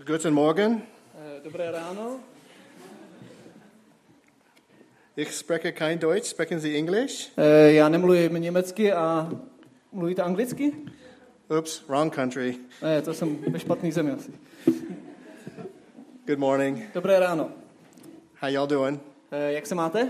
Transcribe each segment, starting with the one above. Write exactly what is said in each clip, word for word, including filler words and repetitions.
Guten Morgen. Dobré ráno. Ich spreche kein Deutsch. Sprechen Sie English? Já nemluvím německy a mluvíte anglicky? Oops, wrong country. Ne, to jsem ve špatný zemi asi. Good morning. Dobré ráno. How y'all doing? Jak se máte?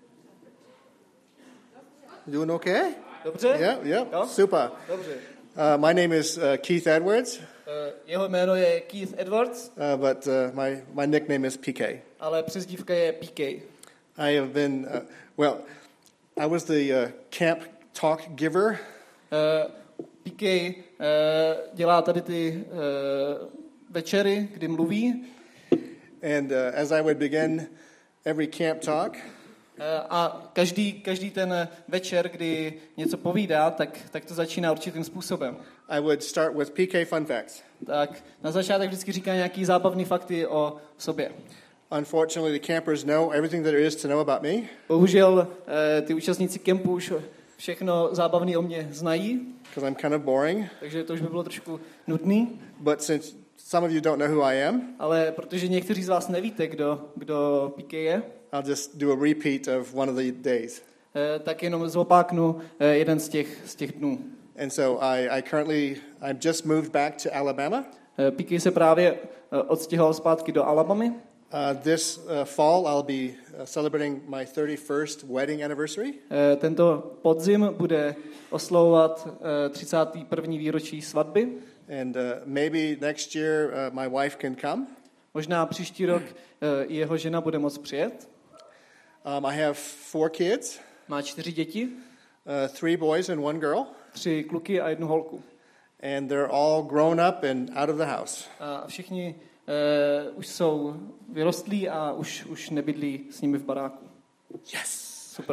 Doing okay? Dobře? Yeah, yeah. Jo? Super. Dobře. Uh, my name is uh, Keith Edwards. Uh, jeho jméno je Keith Edwards, uh, but uh, my my nickname is P K. ale přezdívka je P K. I have been uh, well. I was the uh, camp talk giver. Uh, P K uh, dělá tady ty uh, večery, kdy mluví. And uh, as I would begin every camp talk, uh, a každý, každý ten večer, kdy něco povídá, tak, tak to začíná určitým způsobem. I would start with P K fun facts. Tak na začátek vždycky říká nějaký zábavný fakty o sobě. Unfortunately, the campers know everything that there is to know about me. Bohužel ty účastníci kempu už všechno zábavné o mě znají. Because I'm kind of boring. Takže to už by bylo trošku nudný. But since some of you don't know who I am, ale protože někteří z vás nevíte, kdo, kdo P K je, I'll just do a repeat of one of the days. tak jenom zopáknu jeden z těch, z těch dnů. And so I, I currently, I've just moved back to Alabama. P K se právě odstěhoval zpátky do Alabamy. Uh, this uh, fall I'll be uh, celebrating my thirty-first wedding anniversary. Uh, tento podzim bude oslavovat uh, třicáté první výročí svatby. And uh, maybe next year uh, my wife can come. Možná příští rok uh, jeho žena bude moct přijet. Um, I have four kids. Má čtyři děti. Uh, three boys and one girl. Tři kluky a jednu holku. And they're all grown up and out of the house. A všichni uh, už jsou vyrostlí a už, už nebydlí s nimi v baráku. Yes. Super.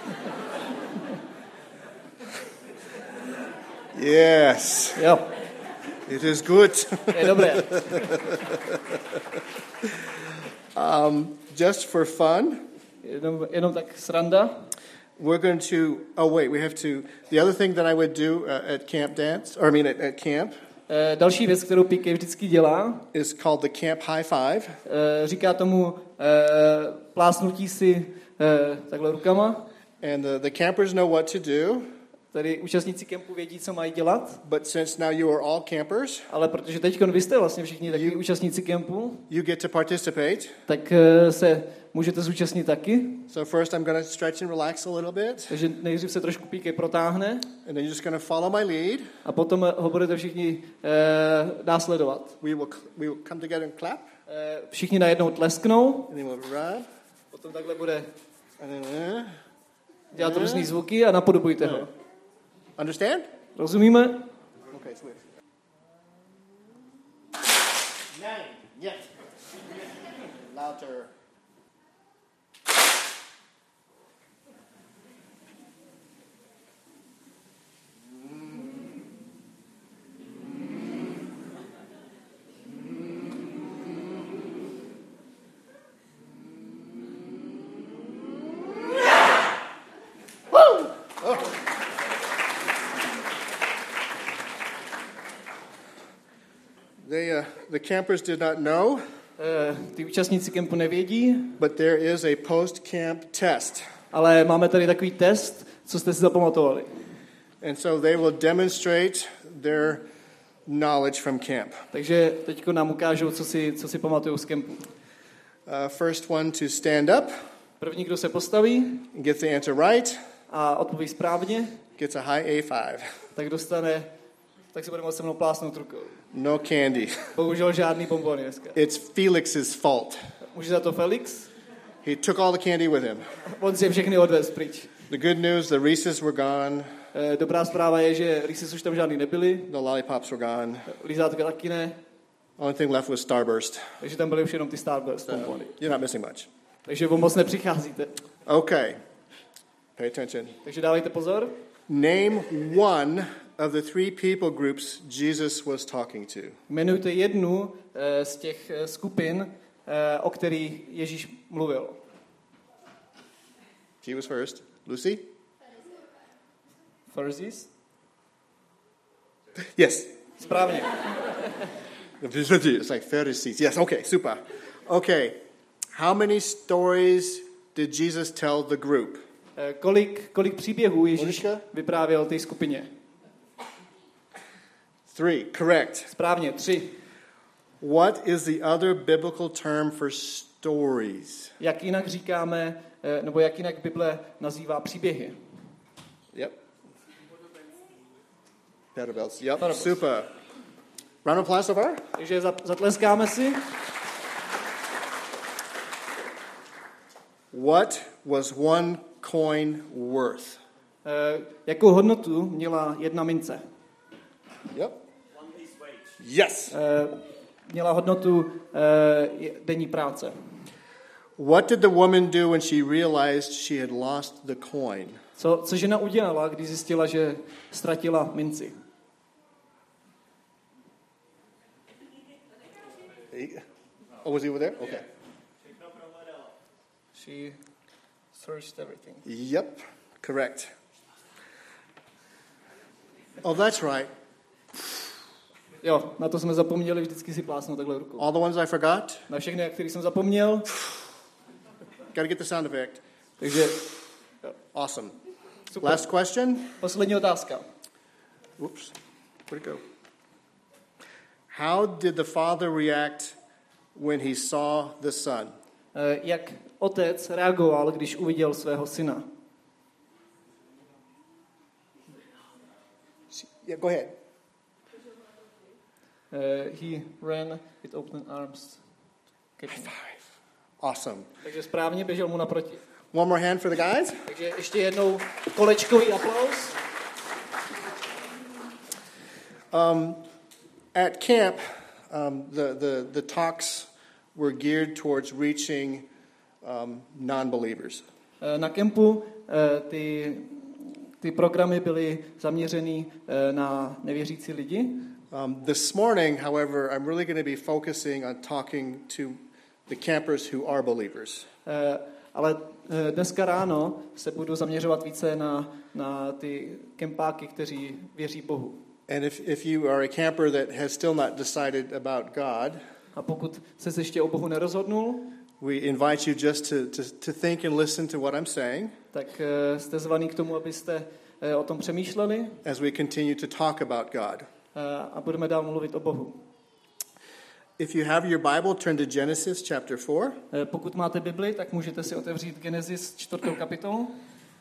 Yes. Jo. It is good. Je dobré. um, just for fun. Jenom, jenom tak sranda. We're going to, oh wait, we have to, the other thing that I would do uh, at camp dance, or I mean at, at camp. Uh, další věc, kterou P K vždycky dělá, is called the camp high five. Uh, říká tomu uh, plásnutí si uh, takhle rukama. And the, the campers know what to do. Tady účastníci kempu vědí, co mají dělat. But since now you are all campers, ale protože teď vy jste vlastně všichni takový účastníci kempu, you get to participate. Tak uh, se můžete zúčastnit taky. So first I'm going to stretch and relax a little bit. Takže nejdřív se trošku P K protáhne. And then you're just going to follow my lead. A potom ho budete všichni uh, následovat. We will we will come together and clap. Uh, všichni najednou tlesknou. And then we'll rub. Potom takhle bude and then, uh, dělat uh, různý zvuky a napodobujte uh, ho. Understand? Rozumíme? Okay, switch. Nine. Yes. Louder. They, uh, the campers did not know. Uh, ty účastníci kempu nevědí. But there is a post-camp test. Ale máme tady takový test, co jste si zapamatovali. And so they will demonstrate their knowledge from camp. Takže teďko nám ukážou, co si, co si pamatujou z kempu. Uh, first one to stand up. První, kdo se postaví. Get the answer right. A odpoví správně. Gets a high A five. Tak dostane, tak si bude moct se mnou plásnout rukou. No candy. Bohužel žádný bonbony dneska. It's Felix's fault. Může za to Felix? He took all the candy with him. On si je všechny odvez pryč. The good news, the Reese's were gone. Dobrá zpráva je, že Reese's už tam žádný nebyly. The lollipops were gone. Lízátka taky ne. Only thing left was Starburst. Takže tam byly už jenom ty Starburst bonbony. You're not missing much. Takže o moc nepřicházíte. Okay. Pay attention. Takže dávejte pozor. Name one of the three people groups Jesus was talking to. Jmenujte jednu uh, z těch uh, skupin, uh, o kterých Ježíš mluvil. She was first. Lucy? Pharisees? Yes. Správně. It's like Pharisees. Yes, okay, super. Okay, how many stories did Jesus tell the group? Eh, Kolik, kolik příběhů Ježíš Moniška? vyprávěl té skupině? Three, correct. Správně, tři. What is the other biblical term for stories? Jak jinak říkáme, eh, nebo jak jinak Bible nazývá příběhy? Yep. Parables. Yep, Parables. super. Round of applause so far? Takže za- zatleskáme si. What was one coin worth? Eh, Jakou hodnotu měla jedna mince? Yep. Yes. Eh, Měla hodnotu eh, denní práce. What did the woman do when she realized she had lost the coin? Co, co žena udělala, když zjistila, že ztratila minci? Oh, was he over there? Okay. She searched everything. Yep, correct. Oh, that's right. Jo, na to jsme zapomněli vždycky si plásnout takhle rukou. All the ones I forgot? Na všechny, na který jsem zapomněl. Got to get the sound effect. Takže Awesome. super. Last question. Poslední otázka. Whoops. Where'd it go? How did the father react when he saw the son? Eh, Jak otec reagoval, když uviděl svého syna? Yeah, go ahead. Eh, He ran with open arms. Five. Awesome. Takže správně běžel mu naproti. One more hand for the guys. Takže ještě jednou kolečkový aplaus. Um, at camp, um, the, the, the talks were geared towards reaching um, non-believers. Eh, Na kempu eh, ty, ty programy byly zaměřený eh, na nevěřící lidi. Um, this morning, however, I'm really going to be focusing on talking to the campers who are believers. Eh, Ale eh, dneska ráno se budu zaměřovat více na, na ty kempáky, kteří věří Bohu. And if, if you are a camper that has still not decided about God, A pokud se ještě o Bohu nerozhodnul, we invite you just to, to, to think and listen to what I'm saying tak eh, jste zvaný k tomu, abyste eh, o tom přemýšleli as we continue to talk about God. eh, a budeme dál mluvit o Bohu. If you have your Bible, turn to Genesis chapter four. Eh, Pokud máte Bibli, tak můžete si otevřít Genesis čtvrtou kapitolu.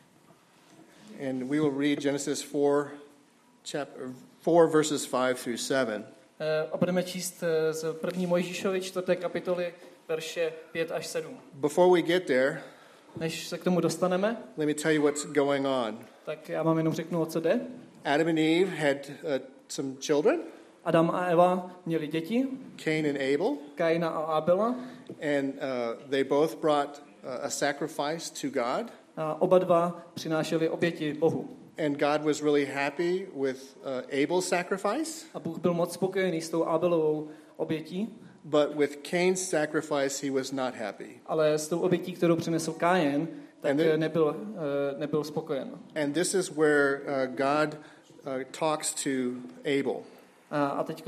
And we will read Genesis four, chapter four, verses five through seven. Eh, A budeme číst eh, z první Mojžíšovi čtvrté kapitoly verše pět až sedm. Before we get there, Než se k tomu dostaneme, let me tell you what's going on. tak já vám jenom řeknu, o co jde. Adam and Eve had uh, some children, Adam a Eva měli děti, Cain and Abel, Kaina a Abela, and uh, they both brought uh, a sacrifice to God. a oba dva přinášeli oběti Bohu. And God was really happy with uh, Abel's sacrifice, A Bůh byl moc spokojený s tou Abelovou obětí, but with Cain's sacrifice he was not happy. ale s tou obětí, kterou přinesl Kájen, tak And then- eh, nebyl, eh, nebyl spokojen. And this is where uh, God uh, talks to Abel. A, a teď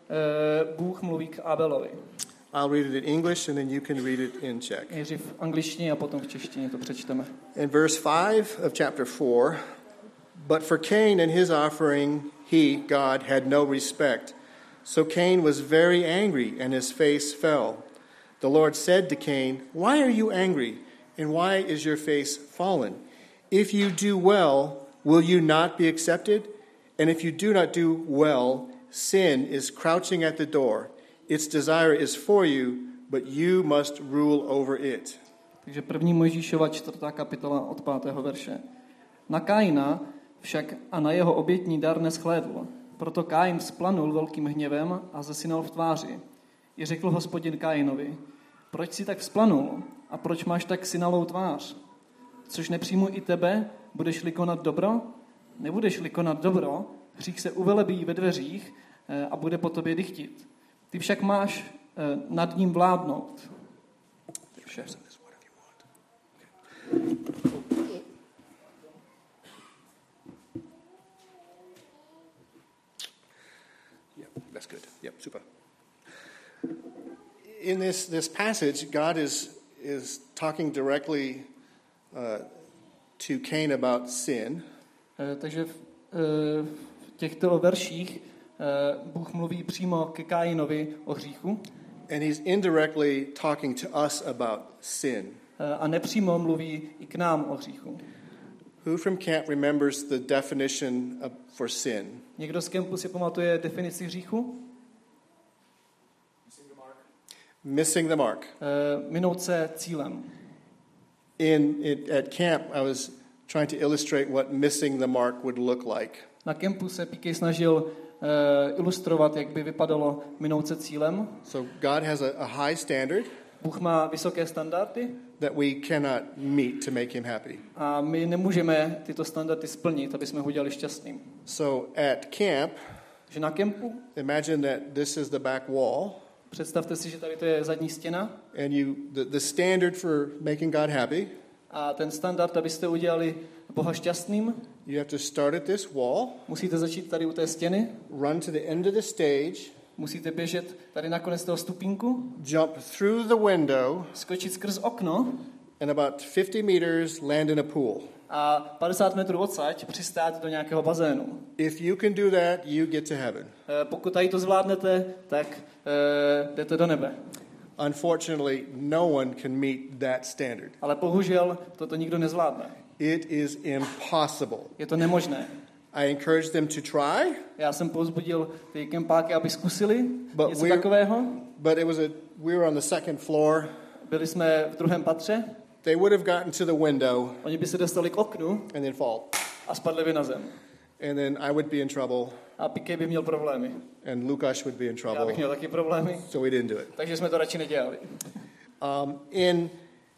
Bůh mluví k Abelovi. I'll read it in English and then you can read it in Czech. Nejdřív v angličtině a potom v češtině to přečteme. In verse five of chapter four, but for Cain and his offering, he, God, had no respect. So Cain was very angry and his face fell. The Lord said to Cain, why are you angry? And why is your face fallen? If you do well, will you not be accepted? And if you do not do well, sin is crouching at the door. Its desire is for you, but you must rule over it. Takže první Mojžíšova čtvrtá kapitola od pátého verše. Na Kaina však a na jeho obětní dar neschlédl. Proto Kain vzplanul velkým hněvem a zesinal v tváři. I řekl Hospodin Kainovi, proč si tak vzplanul a proč máš tak synalou tvář? Což nepřijmu i tebe, budeš-li konat dobro? Nebudeš-li konat dobro, hřích se uvelebí ve dveřích eh, a bude po tobě dychtit. Ty však máš eh, nad ním vládnout. Vše. Yep, that's good. Yep, super. in this, this passage, God is, is talking directly uh, to Cain about sin. Uh, takže v, uh, v těchto verších uh, Bůh mluví přímo ke Kainovi o hříchu. And he's indirectly talking to us about sin. Uh, a nepřímo mluví i k nám o hříchu. Who from camp remembers the definition of, for sin? Někdo z kempu si pamatuje definici hříchu? Missing the mark. Uh, minout se cílem. In it, at camp, I was trying to illustrate what missing the mark would look like. Na kempu se P K snažil uh, ilustrovat, jak by vypadalo minout se cílem. So God has a, a high standard Bůh má vysoké standardy that we cannot meet to make him happy. a my nemůžeme tyto standardy splnit, aby jsme ho udělali šťastným. So at camp, Že na kempu, imagine that this is the back wall, představte si, že tady to je zadní stěna and you the, the standard for making God happy, a ten standard, abyste udělali Boha šťastným, you have to start at this wall, musíte začít tady u té stěny, run to the end of the stage, musíte běžet tady na konec toho stupínku, jump through the window, skočit skrz okno and about fifty meters land in a pool. a padesát metrů odsaď přistát do nějakého bazénu. If you can do that, you get to heaven. E, pokud tady to zvládnete, tak e, jdete do nebe. Unfortunately, no one can meet that standard. Ale bohužel toto nikdo nezvládne. It is impossible. Je to nemožné. I encourage them to try, Já jsem povzbudil ty kempáky, aby zkusili But něco we're- takového. but it was a we were on the second floor. Byli jsme v druhém patře, They would have gotten to the window oni by se dostali k oknu and then fall. a spadli by na zem. And then I would be in trouble A P K by měl problémy. and Lukáš would be in Já trouble. bych měl taky problémy, So we didn't do it. takže jsme to radši nedělali. Um, in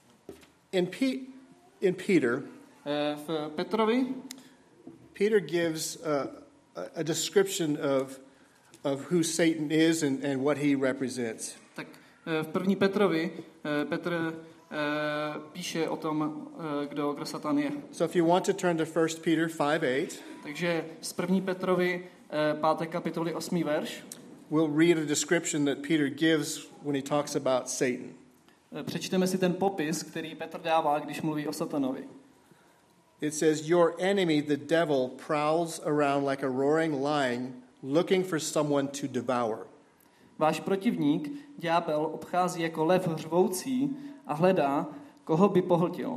in, Pe- in Peter, E, v Petrovi Peter gives uh, a, a description of of who Satan is and, and what he represents. Tak v první Petrovi eh, Petr eh, píše o tom, eh, kdo, kdo Satan je. So if you want to turn to First Peter five eight, Takže z první Petrovi eh, páté kapitoly osmý verš we'll read a description that Peter gives when he talks about Satan. eh, přečteme si ten popis, který Petr dává, když mluví o Satanovi. It says, "Your enemy, the devil, prowls around like a roaring lion, looking for someone to devour." Váš protivník, ďábel, obchází jako lev řvoucí a hledá, koho by pohltil.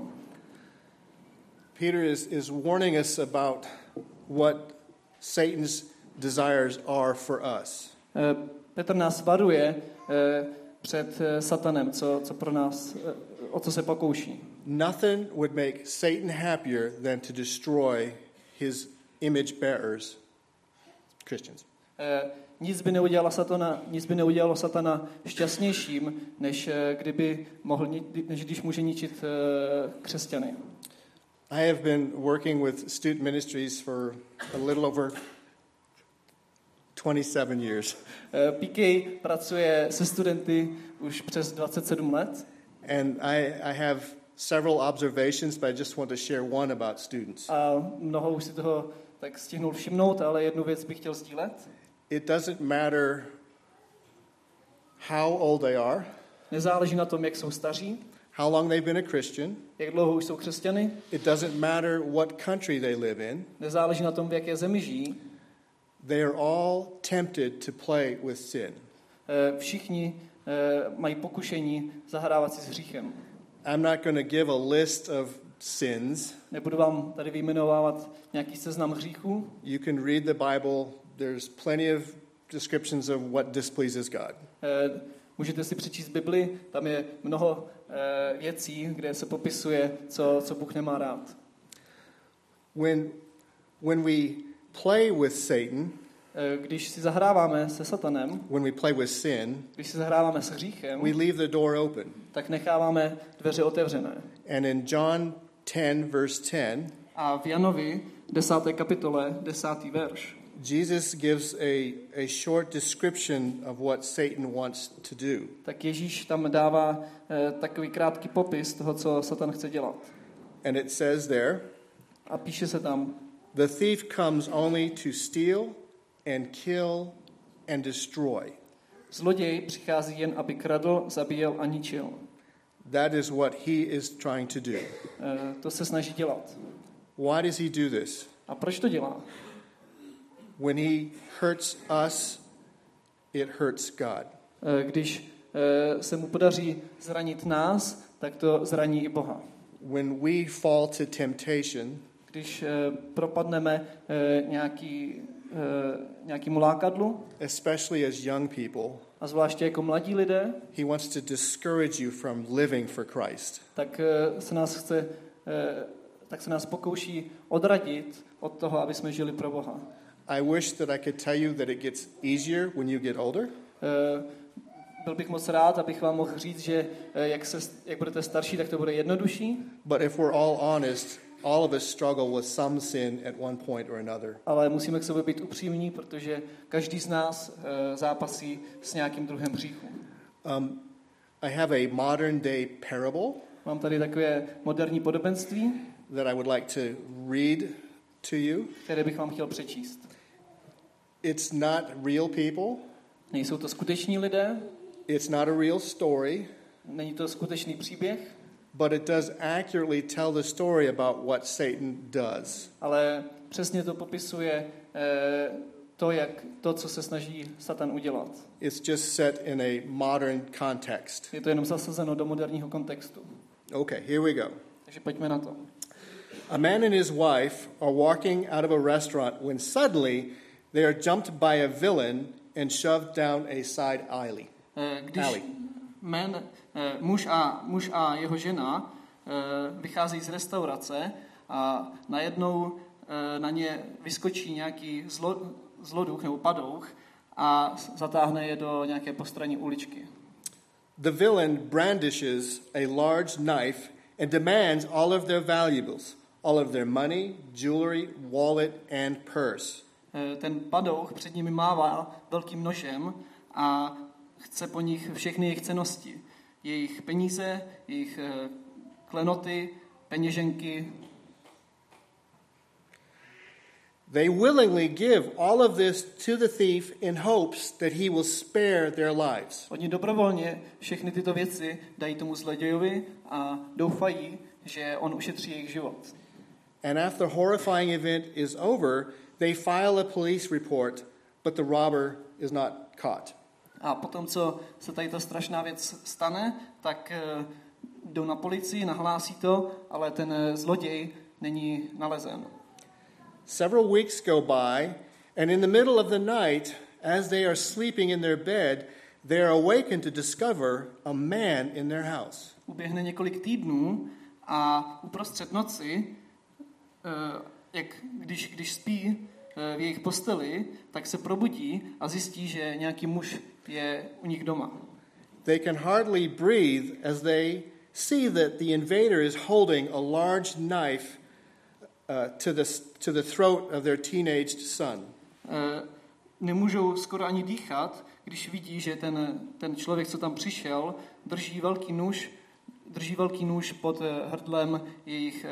Peter is, is warning us about what Satan's desires are for us. Eh, Petr nás varuje eh, před eh, Satanem, co, co pro nás, eh, o co se pokouší. Nothing would make Satan happier than to destroy his image bearers, Christians. Eh, nic by neudělalo Satana, nic by neudělalo Satana šťastnějším, než eh, kdyby mohl, ni- než když může ničit eh, křesťany. I have been working with student ministries for a little over twenty-seven years. Eh, P K pracuje se studenty už přes dvacet sedm let And I, I have several observations, but I just want to share one about students. a mnoho už si toho tak stihnul všimnout, ale jednu věc bych chtěl sdílet. It doesn't matter how old they are, Nezáleží na tom, jak jsou staří, how long they've been a Christian. jak dlouho už jsou křesťany, It doesn't matter what country they live in. nezáleží na tom, v jaké zemi žijí. They are all tempted to play with sin. Eh, Všichni eh, mají pokušení zahrávat si s hříchem. I'm not going to give a list of sins. Nebudu vám tady vyjmenovávat nějaký seznam hříchů. You can read the Bible. There's plenty of descriptions of what displeases God. Eh, Můžete si přečíst Bibli, tam je mnoho eh, věcí, kde se popisuje, co, co Bůh nemá rád. When, when we play with Satan, Eh, Když si zahráváme se Satanem, when we play with sin, když si zahráváme s hříchem, we leave the door open. tak necháváme dveře otevřené. And in John ten, verse ten, A v Janovi desáté kapitole, desátý verš, Jesus gives a, a short description of what Satan wants to do. tak Ježíš tam dává eh, takový krátký popis toho, co Satan chce dělat. And it says there, A píše se tam, the thief comes only to steal and kill and destroy. Zloděj přichází jen, aby kradl, zabíjel a ničil. That is what he is trying to do. E, to se snaží dělat. Why does he do this? A proč to dělá? When he hurts us, it hurts God. E, když e, se mu podaří zranit nás, tak to zraní i Boha. When we fall to temptation, Když e, propadneme e, nějaký, e, nějakému lákadlu, especially as young people, a zvláště jako mladí lidé, he wants to discourage you from living for Christ. tak e, se nás chce, e, tak se nás pokouší odradit od toho, aby jsme žili pro Boha. I wish that I could tell you that it gets easier when you get older. E, byl bych moc rád, abych vám mohl říct, že e, jak, se, jak budete starší, tak to bude jednodušší. But if we're all honest, all of us struggle with some sin at one point or another. Ale musíme k sobě být upřímní, protože každý z nás e, zápasí s nějakým druhem hříchu. Um, I have a modern day parable Mám tady takové moderní podobenství, that I would like to read to you. které bych vám chtěl přečíst. It's not real people. Nejsou to skuteční lidé, It's not a real story, není to skutečný příběh, but it does accurately tell the story about what Satan does. ale přesně to popisuje e, to, jak, to, co se snaží Satan udělat. It's just set in a modern context. Je to jenom zasazeno do moderního kontextu. Okay, here we go. Takže pojďme na to. A man and his wife are walking out of a restaurant when suddenly they are jumped by a villain and shoved down a side alley. E, když alley. man, e, muž, a, muž a jeho žena e, vycházejí z restaurace a najednou e, na ně vyskočí nějaký zlo, zloduch nebo padouch a zatáhne je do nějaké postranní uličky. The villain brandishes a large knife and demands all of their valuables, all of their money, jewelry, wallet and purse. E, ten padouch před nimi mává velkým nožem a chce po nich všechny jejich cennosti. Jejich peníze, jejich e, klenoty, peněženky. They willingly give all of this to the thief in hopes that he will spare their lives. Oni dobrovolně všechny tyto věci dají tomu zlodějovi a doufají, že on ušetří jejich život. And after the horrifying event is over, they file a police report, but the robber is not caught. A potom, co se tady ta strašná věc stane, tak e, jdou na policii, nahlásí to, ale ten e, zloděj není nalezen. Several weeks go by, and in the middle of the night, as they are sleeping in their bed, they are awakened to discover a man in their house. Uběhne několik týdnů a uprostřed noci, e, jak, když, když spí e, v jejich posteli, tak se probudí a zjistí, že nějaký muž je u nich doma. They can hardly breathe as they see that the invader is holding a large knife uh, to the to the throat of their teenaged son. E, nemůžou skoro ani dýchat, když vidí, že ten, ten člověk, co tam přišel, drží velký nůž, drží velký nůž pod hrdlem jejich e,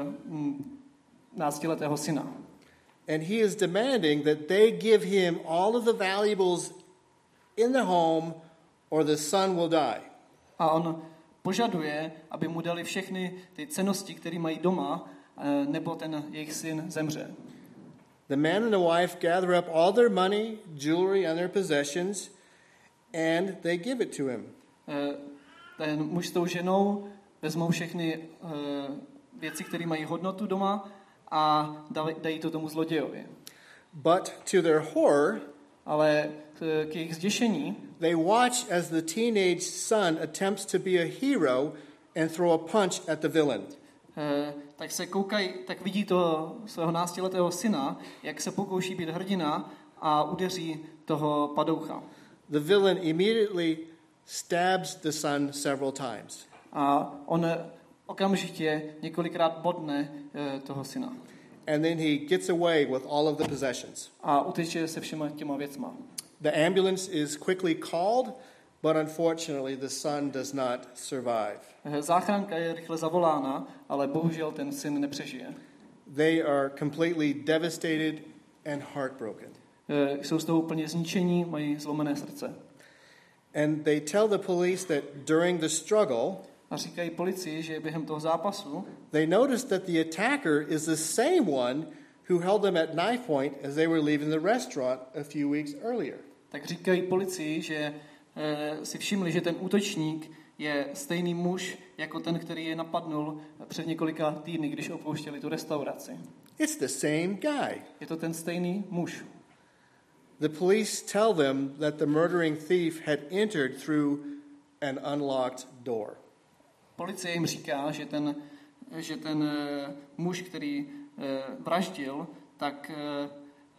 náctiletého syna. And he is demanding that they give him all of the valuables in the home or the son will die. A on požaduje, aby mu dali všechny ty cennosti, které mají doma, nebo ten jejich syn zemře. The man and the wife gather up all their money, jewelry and their possessions and they give it to him. Ten muž s tou ženou vezmou všechny věci, které mají hodnotu doma a dají to tomu zlodějovi. But to their horror, ale k jejich zděšení, they watch as the teenage son attempts to be a hero and throw a punch at the villain. Tak se koukají, tak vidí to svého náctiletého syna, jak se pokouší být hrdina a udeří toho padoucha. The villain immediately stabs the son several times. A on okamžitě několikrát bodne toho syna. And then he gets away with all of the possessions. A uteče se všema těma věcma. The ambulance is quickly called, but unfortunately the son does not survive. Záchranka je rychle zavolána, ale bohužel ten syn nepřežije. They are completely devastated and heartbroken. Jsou z toho úplně zničení, mají zlomené srdce. And they tell the police that during the struggle, a říkají policii, že během toho zápasu they noticed that the attacker is the same one who held them at knife point as they were leaving the restaurant a few weeks earlier. Tak říkají policii, že e, si všimli, že ten útočník je stejný muž jako ten, který je napadnul před několika týdny, když opouštěli tu restauraci. It's the same guy. Je to ten stejný muž. The police tell them that the murdering thief had entered through an unlocked door. Policie jim říká, že ten, že ten uh, muž, který uh, vraždil, tak uh,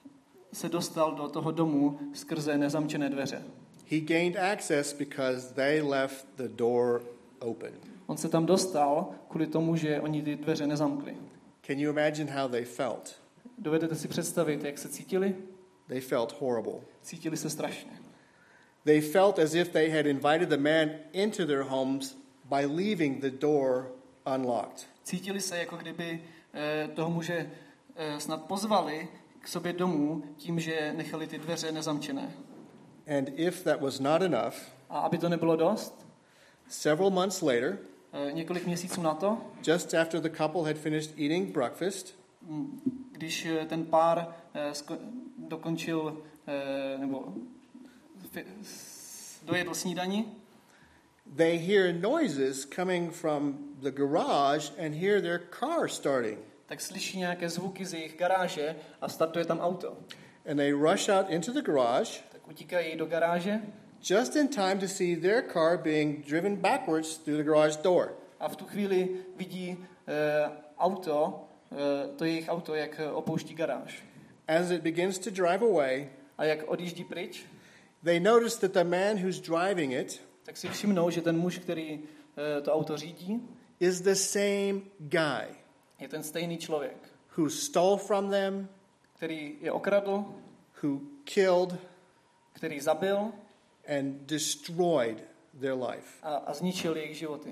se dostal do toho domu skrze nezamčené dveře. He gained access because they left the door open. On se tam dostal kvůli tomu, že oni ty dveře nezamkli. Can you imagine how they felt? Dovedete si představit, jak se cítili? They felt horrible. Cítili se strašně. They felt as if they had invited the man into their homes by leaving the door unlocked. Cítili se, jako kdyby eh, toho muže eh, snad pozvali k sobě domů tím, že nechali ty dveře nezamčené. And if that was not enough, A aby to nebylo dost, several months later, eh, několik měsíců na to, just after the couple had finished eating breakfast, když eh, ten pár eh, sko- dokončil eh, nebo fi- s- dojedl snídani, they hear noises coming from the garage and hear their car starting. tak slyší nějaké zvuky z jejich garáže a startuje tam auto. And they rush out into the garage Tak utíkají do garáže just in time to see their car being driven backwards through the garage door. a v tu chvíli vidí eh, auto, eh, to jejich auto, jak opouští garáž. As it begins to drive away, A jak odjíždí pryč, they notice that the man who's driving it tak si všimnou, že ten muž, který eh, to auto řídí, is the same guy je ten stejný člověk, who stole from them, který je okradl, who killed který zabil and destroyed their life. a, a zničil jejich životy.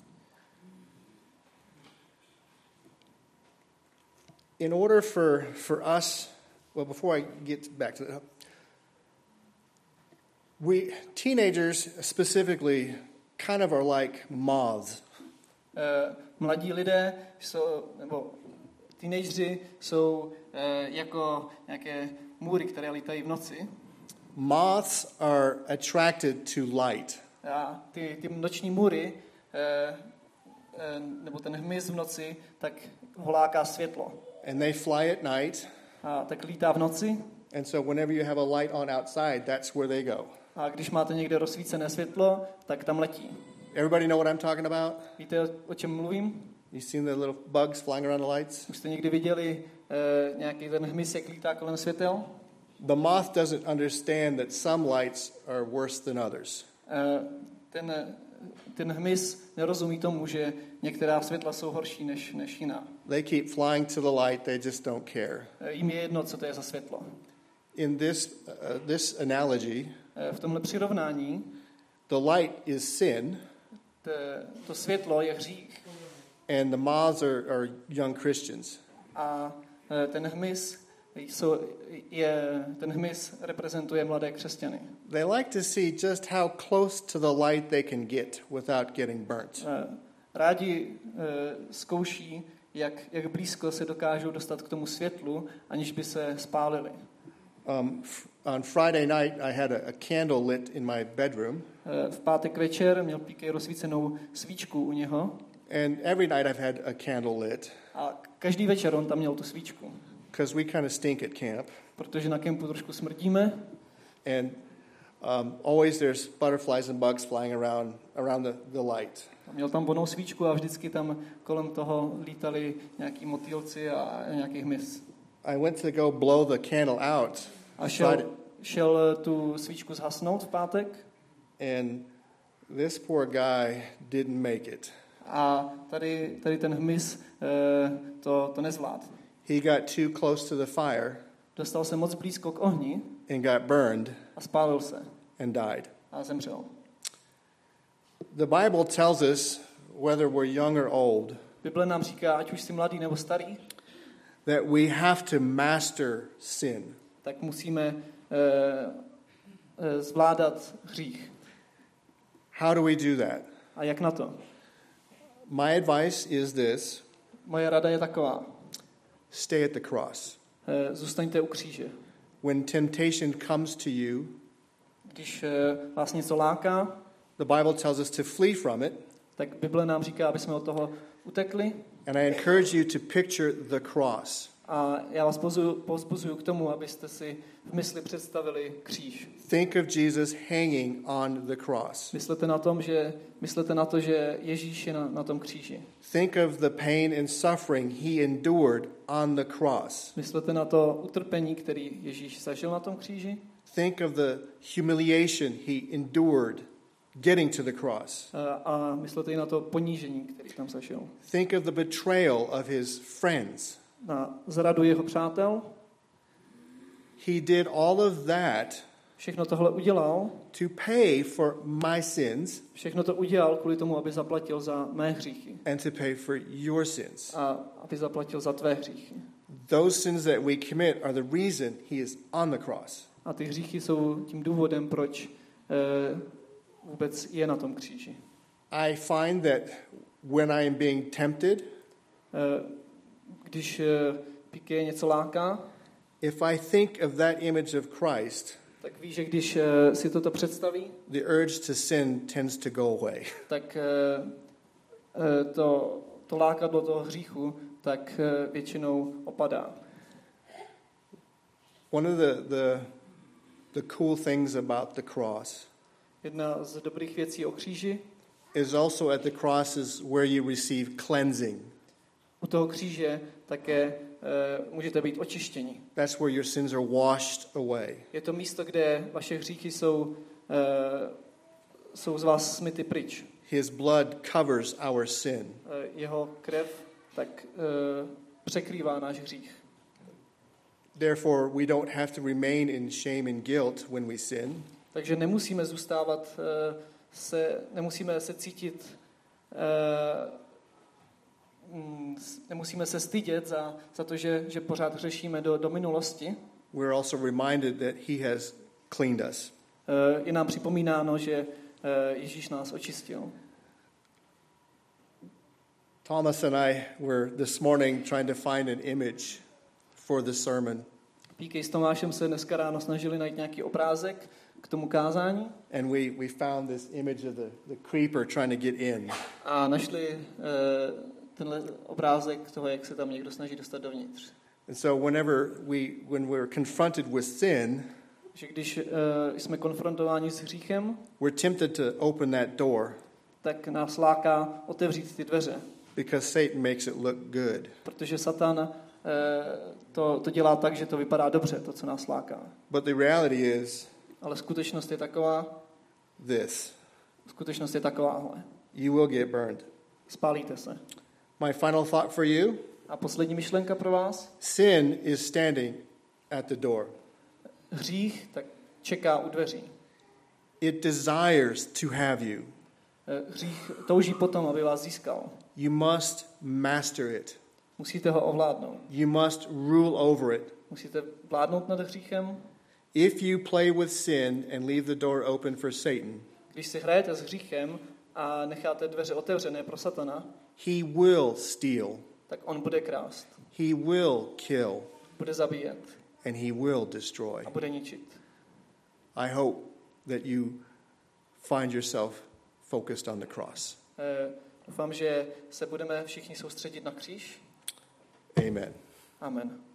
In order for, for us, well, before I get back to that, we, teenagers specifically, kind of are like moths. Uh, mladí lidé jsou, nebo teenageři jsou uh, jako nějaké můry, které lítají v noci. Moths are attracted to light. A ty, ty noční můry, uh, uh, nebo ten hmyz v noci, tak ho láká světlo. And they fly at night. A tak lítá v noci. And so whenever you have a light on outside, that's where they go. A když máte někde rozsvícené světlo, tak tam letí. Everybody know what I'm talking about? Víte, o, o čem mluvím? You seen the little bugs flying around the lights? Už jste někdy viděli uh, nějaký ten hmyz, jak lítá kolem světel? The moth doesn't understand that some lights are worse than others. Uh, ten, ten hmyz nerozumí tomu, že některá světla jsou horší než, než jiná. They keep flying to the light, they just don't care. Uh, jim je jedno, co to je za světlo. In this, uh, this analogy, Uh, v tomhle přirovnání the light is sin, t, to světlo je hřích and the moths are, are young Christians. a uh, ten hmyz jsou, je, ten hmyz reprezentuje mladé křesťany. They like to see just how close to the light they can get without getting burnt. Uh, rádi uh, zkouší, jak, jak blízko se dokážou dostat k tomu světlu, aniž by se spálili. Um, f- on Friday night, I had a, a candle lit in my bedroom, Uh, v pátek večer měl P K rozsvícenou svíčku u něho and every night I've had a candle lit a každý večer on tam měl tu svíčku, because we kind of stink at camp, protože na kempu trošku smrdíme and um, always there's butterflies and bugs flying around around the, the light. a měl tam vonou svíčku a vždycky tam kolem toho lítali nějaký motýlci a nějaký hmyz. I went to go blow the candle out A šel, Friday, šel tu svíčku zhasnout v pátek and this poor guy didn't make it. a tady, tady ten hmyz eh, to, to nezvládl. He got too close to the fire Dostal se moc blízko k ohni and got burned a spálil se and died. a zemřel. The Bible tells us, whether we're young or old, Bible nám říká, ať už jsi mladý nebo starý, that we have to master sin. tak musíme eh, eh, zvládat hřích. How do we do that? A jak na to? My advice is this: Moje rada je taková. stay at the cross. Eh, Zůstaňte u kříže. When temptation comes to you, Když eh, vás něco láká, the Bible tells us to flee from it, tak Bible nám říká, aby jsme od toho utekli. and I encourage you to picture the cross. A já vás povzbuzuju k tomu, abyste si v mysli představili kříž. Think of Jesus hanging on the cross. Myslete na, tom, že, myslete na to, že Ježíš je na, na tom kříži. Think of the pain and suffering he endured on the cross. Myslete na to utrpení, který Ježíš zažil na tom kříži. Think of the humiliation he endured getting to the cross. A, a myslete i na to ponížení, který tam zažil. Think of the betrayal of his friends. Na zradu jeho přátel. He did all of that Všechno tohle udělal. to pay for my sins Všechno to udělal kvůli tomu, aby zaplatil za mé hříchy. and to pay for your sins. A aby zaplatil za tvé hříchy. Those sins that we commit are the reason he is on the cross. A ty hříchy jsou tím důvodem, proč eh, vůbec je na tom kříži. I find that when I am being tempted, Eh, Když eh, Piqué něco láká, if I think of that image of Christ, tak ví, že když eh, si toto představí, the urge to sin tends to go away. tak eh, eh, to, to lákadlo toho hříchu tak eh, většinou opadá. One of the, the, the cool things about the cross Jedna z dobrých věcí o kříži, is also at the cross is where you receive cleansing. u toho kříže také eh, můžete být očištěni. That's where your sins are washed away. Je to místo, kde vaše hříchy jsou, eh, jsou z vás smyty pryč. His blood covers our sin. Eh, jeho krev tak eh, překrývá náš hřích. Therefore, we don't have to remain in shame and guilt when we sin. Takže nemusíme zůstávat, eh, se, nemusíme se cítit, eh, mm, nemusíme se stydět za, za to, že, že pořád hřešíme do, do minulosti. We're also reminded that he has cleaned us. Eh, Je nám připomínáno, že eh, Ježíš nás očistil. Thomas and I were this morning trying to find an image for the sermon. Píkej s Tomášem se dneska ráno snažili najít nějaký obrázek k tomu kázání And we, we found this image of the, the creeper trying to get in. a našli uh, tenhle obrázek toho, jak se tam někdo snaží dostat dovnitř. And so whenever we when we're confronted with sin, Že když uh, jsme konfrontováni s hříchem, we're tempted to open that door tak nás láká otevřít ty dveře, because Satan makes it look good. protože Satan uh, to, to dělá tak, že to vypadá dobře, to, co nás láká. But the reality is Ale skutečnost je taková, this. skutečnost je takováhle. You will get burned. Spálíte se. My final thought for you, A poslední myšlenka pro vás. sin is standing at the door. Hřích tak čeká u dveří. It desires to have you. Hřích touží potom, aby vás získal. You must master it. Musíte ho ovládnout. You must rule over it. Musíte vládnout nad hříchem. If you play with sin and leave the door open for Satan, Když si hrajete s hříchem a necháte dveře otevřené pro Satana, he will steal, tak on bude krást, he will kill, bude zabíjet and he will destroy. a bude ničit. I hope that you find yourself focused on the cross. Eh, Doufám, že se budeme všichni soustředit na kříž. Amen. Amen.